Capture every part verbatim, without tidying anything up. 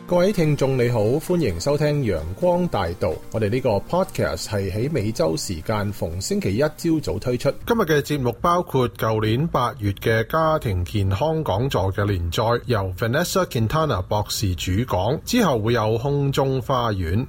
各位聽眾你好，歡迎收聽陽光大道。我哋呢個 podcast 係喺美洲時間逢星期一朝早推出。今日嘅節目包括舊年八月嘅家庭健康講座嘅連載，由 Vanessa Quintana 博士主講，之後會有空中花園。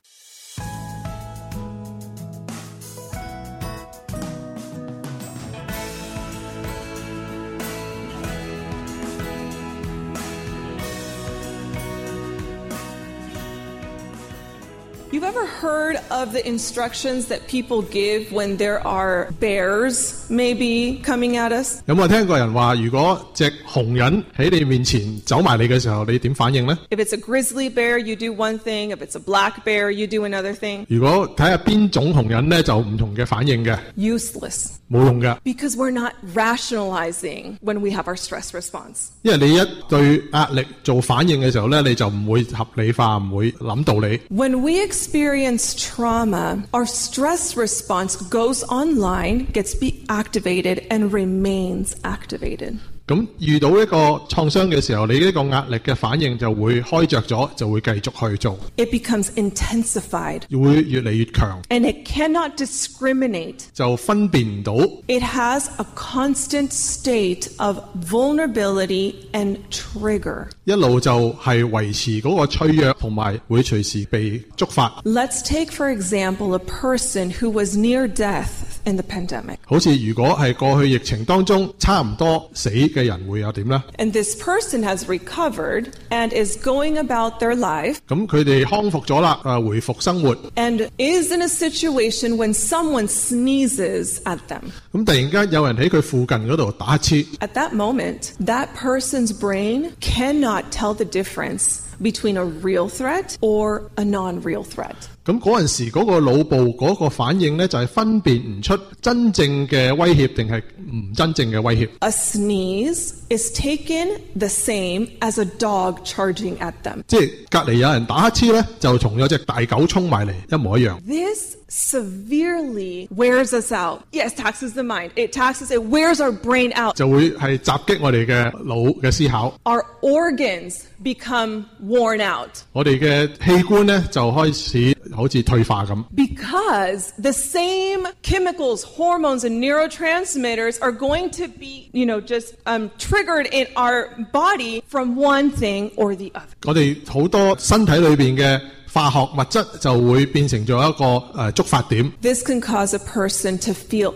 You've ever heard of the instructions that people give when there are bears maybe coming at us? 有冇聽過人話，如果隻紅人喺你面前走埋你嘅時候，你點反應呢？ If it's a grizzly bear, you do one thing. If it's a black bear, you do another thing. 如果睇下邊種紅人呢，就唔同嘅反應嘅。 Useless. 冇用嘅。 Because we're not rationalizing when we have our stress response. 因為你一對壓力做反應嘅時候呢，你就唔會合理化，唔會諗道理。 When we experience trauma, our stress response goes online, gets be activated, and remains activated. 咁遇到一個創傷嘅時候，你呢個壓力嘅反應就會開着咗，就會繼續去做。 It becomes intensified. 會越嚟越強。 And it cannot discriminate. 就分辨唔到。 It has a constant state of vulnerability and trigger. 一路就係維持嗰個脆弱，同埋會隨時被觸發。 Let's take, for example, a person who was near death in the pandemic. 好似如果係過去疫情當中差唔多死嘅人會有點呢？ And this person has recovered and is going about their life. 咁佢哋康復咗啦，誒回復生活。 And is in a situation when someone sneezes at them. 咁突然間有人喺佢附近嗰度打乞嗤。 At that moment, that person's brain cannot tell the difference between a real threat or a non-real threat. 咁嗰陣時嗰個腦部嗰個反應呢，就係分辨唔出真正嘅威脅定係唔真正嘅威脅。 A sneeze is taken the same as a dog charging at them. 即係隔離有人打乞嗤呢，就同有隻大狗衝埋嚟一模一樣。 This severely wears us out. Yes, taxes the mind. It taxes, it wears our brain out. 就會係襲擊我哋嘅腦嘅思考。 Our organs become worn out. 我哋嘅器官呢，就開始好似退化咁。 Because the same chemicals, hormones, and neurotransmitters are going to be, you know, just um, triggered in our body from one thing or the other. 我哋好多身體裏邊嘅化學物質就會變成咗一個誒、呃、觸發點。 This can cause a person to feel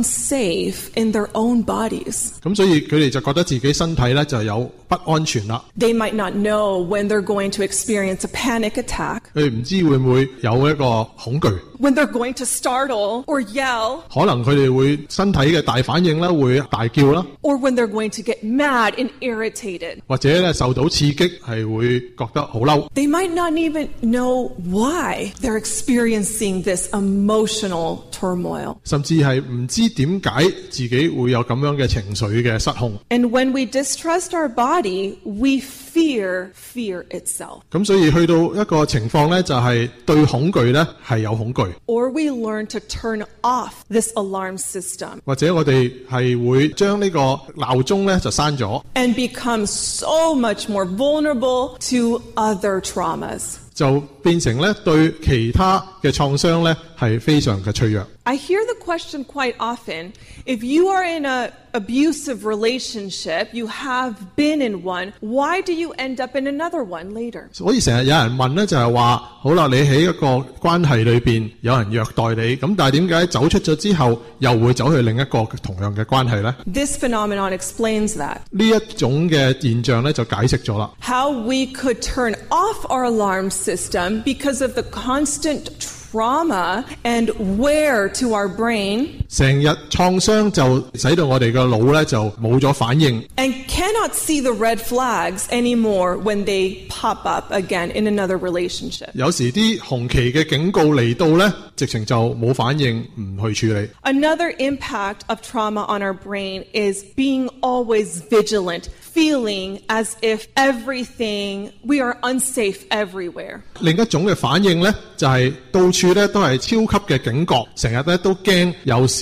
unsafe in their own bodies. 咁所以佢哋就覺得自己身體咧就有不安全啦。 They might not know when they're going to experience a panic attack. 佢哋唔知會唔會有一個恐懼。 When they're going to startle or yell. 可能佢哋會身體嘅大反應啦，會大叫啦。 Or when they're going to get mad and irritated. 或者咧受到刺激係會覺得好嬲。 They might not even know why they're experiencing this emotional turmoil. 甚至係唔知點解自己會有咁樣嘅情緒嘅失控。 And when we distrust our body, we fear fear itself. 咁所以去到一個情況咧，就係對恐懼咧係有恐懼。 Or we learn to turn off this alarm system. 或者我哋係會將呢個鬧鐘咧就刪咗。 And become so much more vulnerable to other traumas. 就變成咧對其他嘅創傷咧係非常嘅脆弱。 I hear the question quite often, if you are in an abusive relationship, you have been in one, why do you end up in another one later? 所以成日有人問咧，就係話，好啦，你喺一個關係裏邊有人虐待你，咁但係點解走出咗之後又會走去另一個同樣嘅關係呢？ This phenomenon explains that. 呢一種嘅現象咧就解釋咗啦。 How we could turn off our alarm system because of the constant trauma and wear to our brain. 成日創傷就使到我哋嘅腦咧就冇咗反應。 And cannot see the red flags anymore when they pop up again in another relationship. 有時啲紅旗嘅警告嚟到咧，直情就冇反應，唔去處理。 Another impact of trauma on our brain is being always vigilant, feeling as if everything, we are unsafe everywhere. 另一種嘅反應咧，就係到處咧都係超級嘅警覺，成日咧都驚有事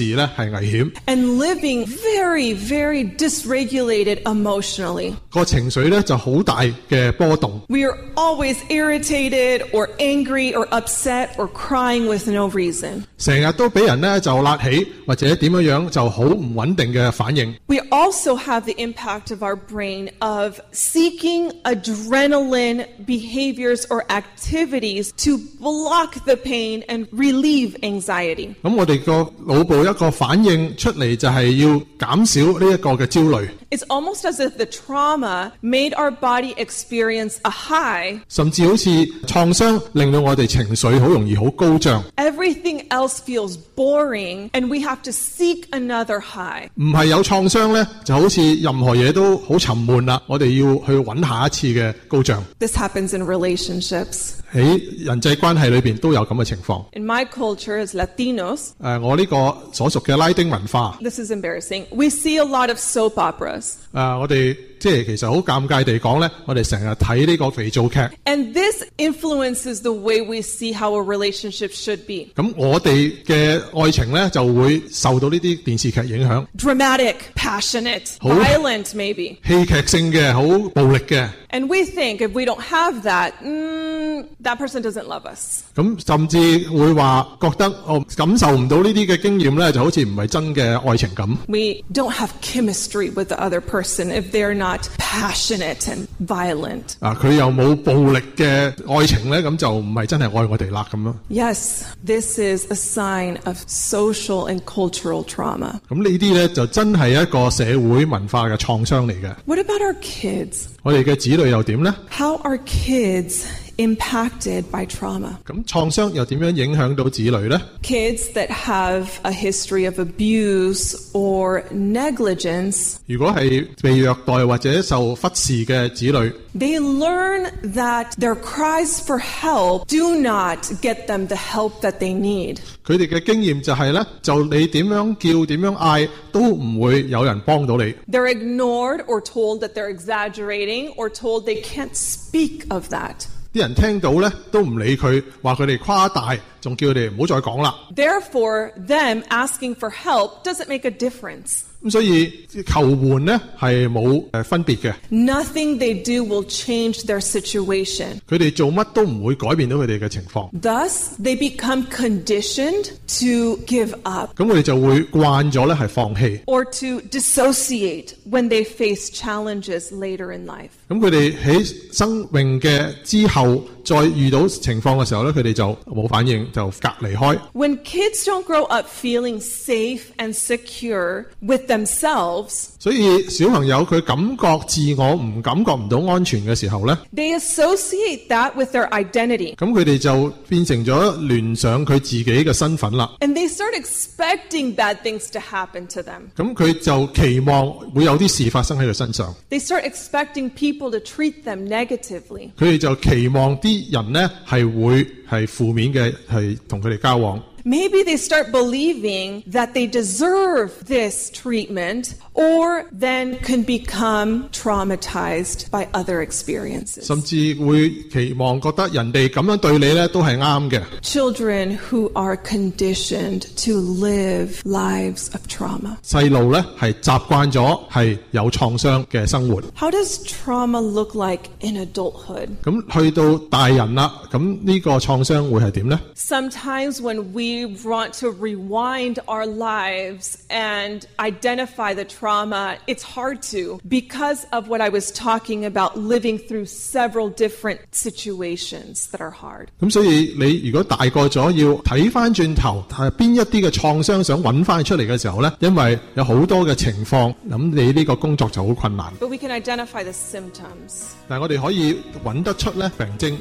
事咧係危險。 And living very, very dysregulated emotionally. 個情緒咧就好大嘅波動。 We are always irritated or angry or upset or crying with no reason. 成日都俾人咧就辣起，或者點樣樣就好唔穩定嘅反應。 We also have the impact of our brain of seeking adrenaline behaviors or activities to block the pain and relieve anxiety. 咁我哋個腦部一個反應出嚟就係要減少呢一個嘅焦慮。 It's almost as if the trauma made our body experience a high. 甚至好似創傷令到我哋情緒好容易好高漲。 Everything else feels boring and we have to seek another high. 唔係有創傷呢，就好似任何嘢都好沉悶啦，我哋要去揾下一次嘅高漲。 This happens in relationships. 喺人際關係裏邊都有咁嘅情況。 In my culture as Latinos, 誒，我呢個所屬嘅拉丁文化， this is embarrassing. We see a lot of soap operas. 誒，我哋即係其實好尷尬地講呢，我哋成日睇呢個肥皂劇。 And this influences the way we see how a relationship should be. 咁我哋嘅愛情呢，就會受到呢啲電視劇影響。 Dramatic, passionate, Oh. violent maybe. 戲劇性嘅，好暴力嘅。 And we think if we don't have that, mm, that person doesn't love us. 咁甚至會話覺得哦，感受唔到呢啲嘅經驗呢，就好似唔係真嘅愛情咁。 We don't have chemistry with the other person if they're not passionate and violent. 啊，佢又冇暴力嘅愛情呢，咁就唔係真係愛我哋啦咁咯。 Yes, this is a sign of social and cultural trauma. 咁呢啲呢，就真係一個社會文化嘅創傷嚟嘅。 What about our kids? 我哋嘅子女又點呢？ How are kids impacted by trauma? 咁創傷又點樣影響到子女呢？ Kids that have a history of abuse or negligence, 如果係被虐待或者受忽視嘅子女， they learn that their cries for help do not get them the help that they need. 佢哋嘅經驗就係呢，就你點樣叫點樣嗌都唔會有人幫到你。 They're ignored or told that they're exaggerating or told they can't speak of that. 啲人聽到呢都唔理佢，話佢哋誇大，仲叫佢哋唔好再講啦。 Therefore, them asking for help doesn't make a difference. 咁所以求援呢係冇誒分別嘅。 Nothing they do will change their situation. 佢哋做乜都唔會改變到佢哋嘅情況。 Thus, they become conditioned to give up 咁佢哋就會慣咗咧係放棄。 or to dissociate when they face challenges later in life. 咁佢哋喺生命嘅之後再遇到情況嘅時候咧，佢哋就冇反應，就隔離開。 When kids don't grow up feeling safe and secure with themselves, 所以小朋友佢感覺自我唔感覺唔到安全嘅時候咧， they associate that with their identity. 咁佢哋就變成咗聯想佢自己嘅身份啦。 And they start expecting bad things to happen to them. 咁佢就期望會有啲事發生喺佢身上。 They start expecting people to treat them negatively. 佢哋就期望啲人呢係會係負面嘅，係同佢哋交往。 Maybe they start believing that they deserve this treatment or then can become traumatized by other experiences. 甚至會期望覺得人哋咁樣對你呢都係啱嘅。 Children who are conditioned to live lives of trauma. 細路呢係習慣咗係有創傷嘅生活。 How does trauma look like in adulthood? 咁去到大人啦，咁呢個創傷會係點呢？ Sometimes when we want to rewind our lives and identify the trauma, it's hard to because of what I was talking about, living through several different situations that are hard. 咁所以你如果大個咗要睇翻轉頭，係邊一啲嘅創傷想揾翻出嚟嘅時候呢，因為有好多嘅情況，咁你呢個工作就好困難。 But we can identify the symptoms. 但係我哋可以揾得出呢病徵。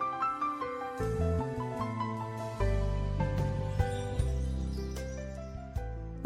The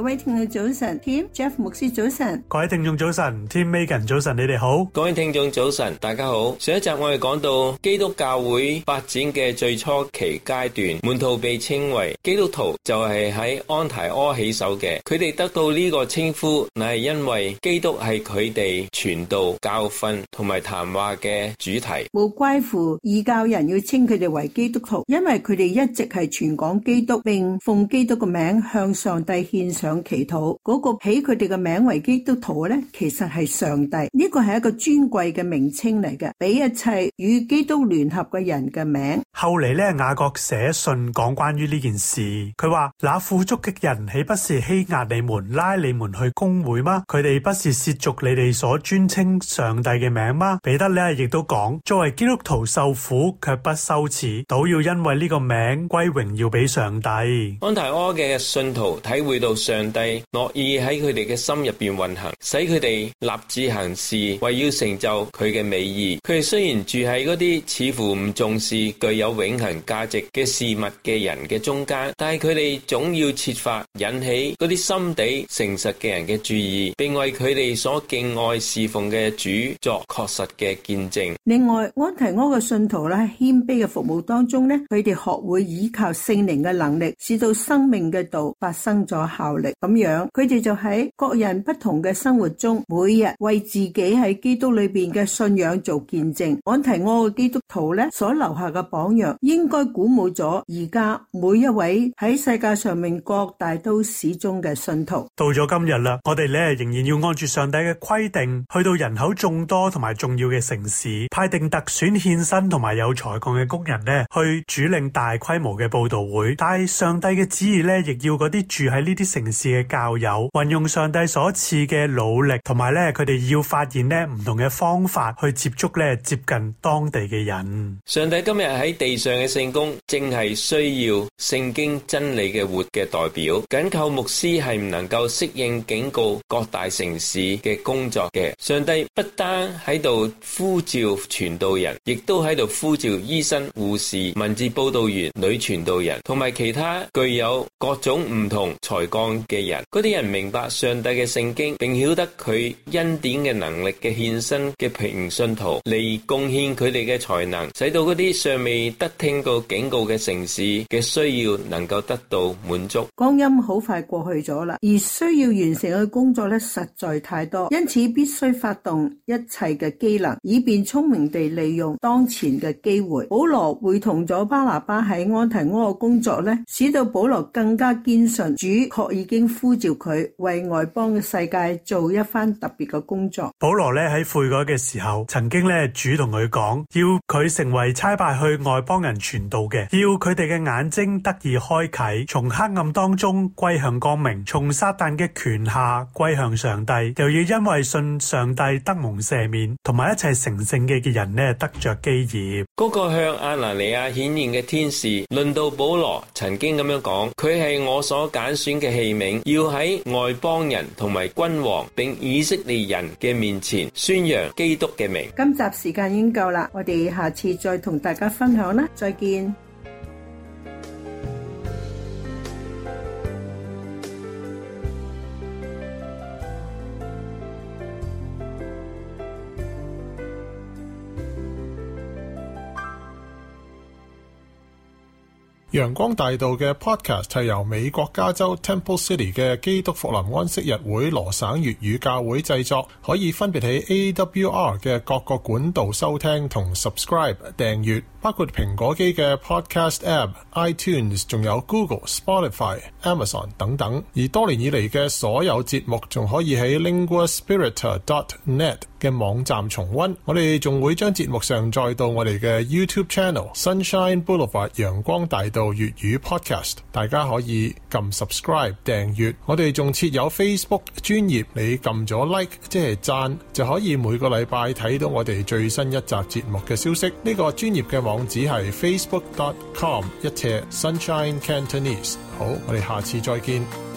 位聽眾早晨 ，Tim Jeff 牧師早晨， 各位聽眾早晨 ，Tim Megan 早晨，你哋好， 各位聽眾早晨，大家好。上一集我哋講到基督教會發展嘅最初期階段，門徒被稱為基督徒，就係喺安提阿起手嘅。佢哋得到呢個稱呼，乃係因為基督係佢哋傳道、教訓同埋談話嘅主題。 無怪乎異教人要稱佢哋為基督徒，因為佢哋一直係傳講基督，並奉基督嘅名向上帝獻上祈禱。嗰、那個起佢哋嘅名為基督徒咧，其實係上帝。呢個係一個尊貴嘅名稱嚟嘅，比一切與基督聯合嘅人嘅名。 後嚟咧，雅各寫信講關於呢件事，佢話：那富足嘅人豈不是欺壓你們，拉你們去公會嗎？佢哋不是褻瀆你哋所尊稱上帝嘅名嗎？彼得咧亦都講：作為基督徒受苦卻不羞恥，倒要因為呢個名歸榮耀俾上帝。 安提阿嘅信徒體會到上帝樂意喺佢哋嘅心入邊運行，使佢哋立志行事，為要成就佢嘅美意。佢哋雖然住喺嗰啲似乎唔重視具有永恆價值嘅事物嘅人嘅中間，但係佢哋總要設法引起嗰啲心地誠實嘅人嘅注意，並為佢哋所敬愛侍奉嘅主作確實嘅見證。 另外，安提阿嘅信徒咧，謙卑嘅服務當中咧，佢哋學會依靠聖靈嘅能力，使到生命嘅道發生咗效力。咁樣，佢哋就喺各人不同嘅生活中，每日為自己喺基督裏邊嘅信仰做見證。安提阿嘅基督徒咧所留下嘅榜樣，應該鼓舞咗而家每一位喺世界上面各大都市中嘅信徒。 到咗今日啦，我哋咧仍然要按住上帝嘅規定，去到人口眾多同埋重要嘅城市，派定特選獻身同埋有才幹嘅工人咧，去主領大規模嘅佈道會。但係上帝嘅旨意咧，亦要嗰啲住喺呢啲城市嘅教友，運用上帝所賜嘅努力，同埋咧佢哋要發現咧唔同嘅方法去接觸咧接近當地嘅人。 上帝今日喺地上嘅聖工，正係需要聖經真理嘅活嘅代表。緊靠牧師係唔能夠適應警告各大城市嘅工作嘅。上帝不單喺度呼召傳道人，亦都喺度呼召醫生、護士、文字報道員、女傳道人同埋其他具有各種唔同才幹嘅人。嗰啲人明白上帝嘅聖經，並曉得佢恩典嘅能力嘅獻身嘅平信徒嚟貢獻佢哋嘅才能，使到嗰啲尚未得聽到警告嘅城市嘅需要能夠得到滿足。 光陰好快過去咗啦，而需要完成嘅工作咧實在太多，因此必須發動一切嘅機能，以便聰明地利用當前嘅機會。保羅會同咗巴拿巴喺安提阿嘅工作咧，使到保羅更加堅信主確已經呼召佢為外邦嘅世界做一番特別嘅工作。 保羅咧喺悔改嘅時候，曾經咧主同佢講，要佢成為差派去外邦人傳道嘅，要佢哋嘅眼睛得以開啟，從黑暗當中歸向光明，從撒旦嘅權下歸向上帝，又要因為信上帝得蒙赦免，同埋一切成聖嘅嘅人呢得着基業。 嗰個向亞拿尼亞顯現嘅天使論到保羅曾經咁樣講，佢係我所揀選嘅器皿，要喺外邦人同埋君王並以色列人嘅面前宣揚基督嘅名。 今集時間已經夠啦，我哋下次再同大家分享啦，再見。 陽光大道嘅 podcast 係由美國加州 Temple City 嘅基督復臨安息日會羅省粵語教會製作，可以分別喺 A W R 嘅各個管道收聽同 subscribe 訂閱，包括蘋果機嘅 podcast app、iTunes， 仲有 Google、Spotify、Amazon 等等。而多年以嚟嘅所有節目仲可以喺 linguaspiritor dot net 嘅網站重溫。我哋仲會將節目上載到我哋嘅 YouTube channel Sunshine Boulevard 陽光大道粵語 podcast， 大家可以撳 subscribe 訂閱。我哋仲設有 Facebook 專頁，你撳咗 like 即係讚，就可以每個禮拜睇到我哋最新一集節目嘅消息。呢、這個專頁嘅網址係 facebook dot com 一斜 Sunshine Cantonese。好，我哋下次再見。